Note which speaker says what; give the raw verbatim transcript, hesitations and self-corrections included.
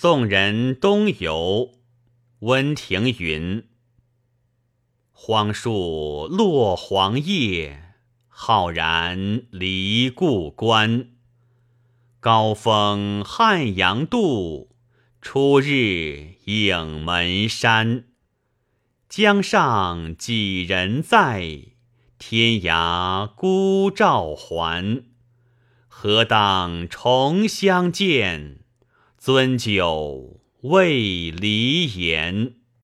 Speaker 1: 宋人东游，温庭筠。荒树落黄叶，浩然离故关。高风汉阳渡，初日影门山。江上几人在？天涯孤照还。何当重相见？樽酒未离言。